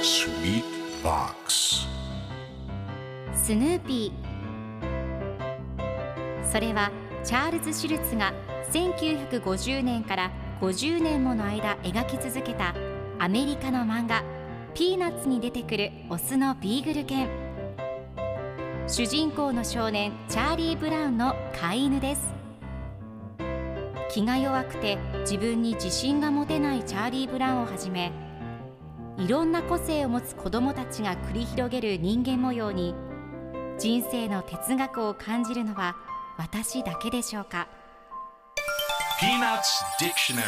Sweet Box スヌーピー。それはチャールズ・シュルツが1950年から50年もの間描き続けたアメリカの漫画ピーナッツに出てくるオスのビーグル犬。主人公の少年チャーリー・ブラウンの飼い犬です。気が弱くて自分に自信が持てないチャーリー・ブラウンをはじめ、いろんな個性を持つ子どもたちが繰り広げる人間模様に人生の哲学を感じるのは私だけでしょうか。 Peanuts Dictionary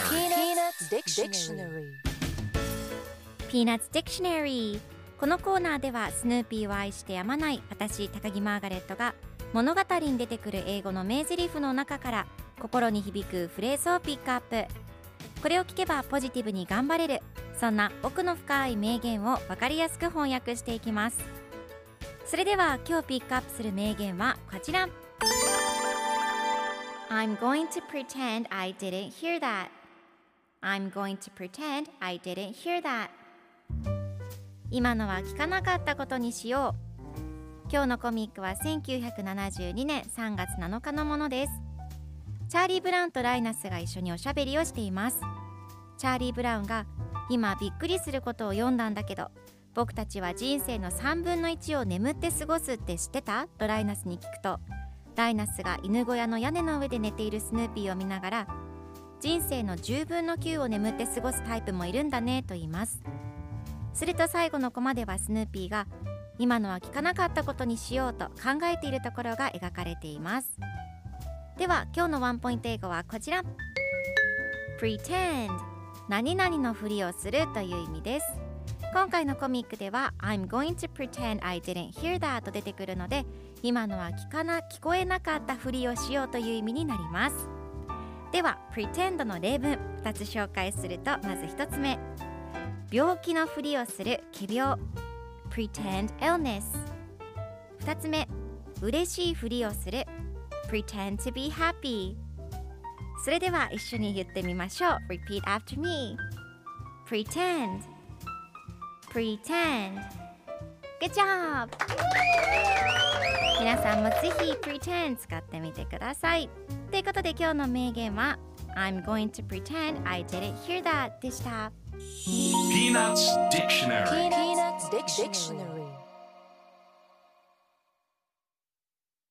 Peanuts Dictionary。 このコーナーではスヌーピーを愛してやまない私高木マーガレットが物語に出てくる英語の名台詞の中から心に響くフレーズをピックアップ。これを聞けばポジティブに頑張れる、そんな奥の深い名言を分かりやすく翻訳していきます。それでは今日ピックアップする名言はこちら。 I'm going to pretend I didn't hear that. I'm going to pretend I didn't hear that. 今のは聞かなかったことにしよう。今日のコミックは1972年3月7日のものです。チャーリー・ブラウンとライナスが一緒におしゃべりをしています。チャーリー・ブラウンが今びっくりすることを読んだんだけど、僕たちは人生の3分の1を眠って過ごすって知ってた？とライナスに聞くと、ライナスが犬小屋の屋根の上で寝ているスヌーピーを見ながら、人生の10分の9を眠って過ごすタイプもいるんだねと言います。すると最後のコマではスヌーピーが今のは聞かなかったことにしようと考えているところが描かれています。では今日のワンポイント英語はこちら。 Pretend、 何々のふりをするという意味です。今回のコミックでは I'm going to pretend I didn't hear that と出てくるので、今のは聞こえなかったふりをしようという意味になります。では pretend の例文2つ紹介すると、まず1つ目、病気のふりをする奇病 pretend illness。 2つ目、嬉しいふりをする pretend to be happy。 それでは一緒に言ってみましょう。 Repeat after me。 Pretend Pretend。 Good job。 皆さんもぜひ Pretend 使ってみてください。ということで今日の名言は I'm going to pretend I didn't hear that でした。 Peanuts Dictionary